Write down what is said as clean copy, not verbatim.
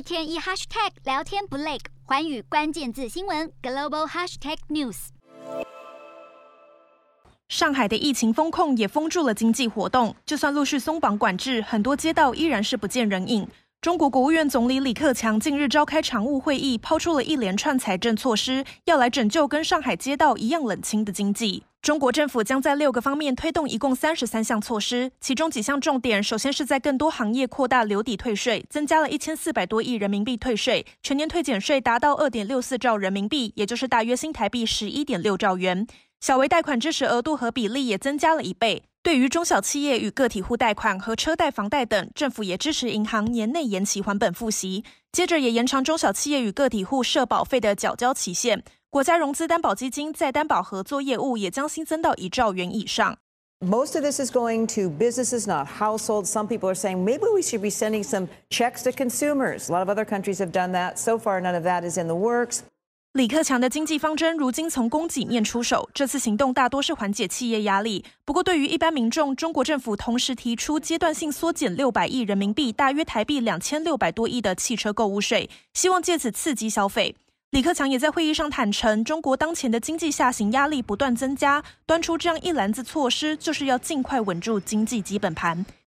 天一 hashtag 聊天不累，寰宇關鍵字新聞 global hashtag news。 上海的疫情封控也封住了經濟活動，就算陸續鬆綁管制，很多街道依然是不見人影。中國國務院總理李克強近日召開常務會議，拋出了一連串財政措施，要來拯救跟上海街道一樣冷清的經濟。中國政府將在6個方面推動一共33項措施，其中幾項重點，首先是在更多行業擴大留抵退稅，增加了1400多億人民幣退稅，全年退減稅達到2.64兆人民幣，也就是大約新台幣11.6兆元。小微貸款支持額度和比例也增加了1倍。對於中小企業與個體戶貸款和車貸、房貸等，政府也支持銀行年內延期還本付息，接着也延長中小企業與個體戶社保費的繳交期限。國家融資擔保基金再擔保合作業務也將新增到1兆元以上。 Most of this is going to businesses, not households. Some people are saying maybe we should be sending some checks to consumers. A lot of other countries have done that. So far, none of that is in the works. 李克強的經濟方針如今從供給面出手，這次行動大多是緩解企業壓力。不過，對於一般民眾，中國政府同時提出階段性縮減600億人民幣，大約台幣2600多億的汽車購物稅，希望借此刺激消費。李克強也在會議上坦承，中國當前的經濟下行壓力不斷增加，端出這樣一籃子措施，就是要盡快穩住經濟基本盤。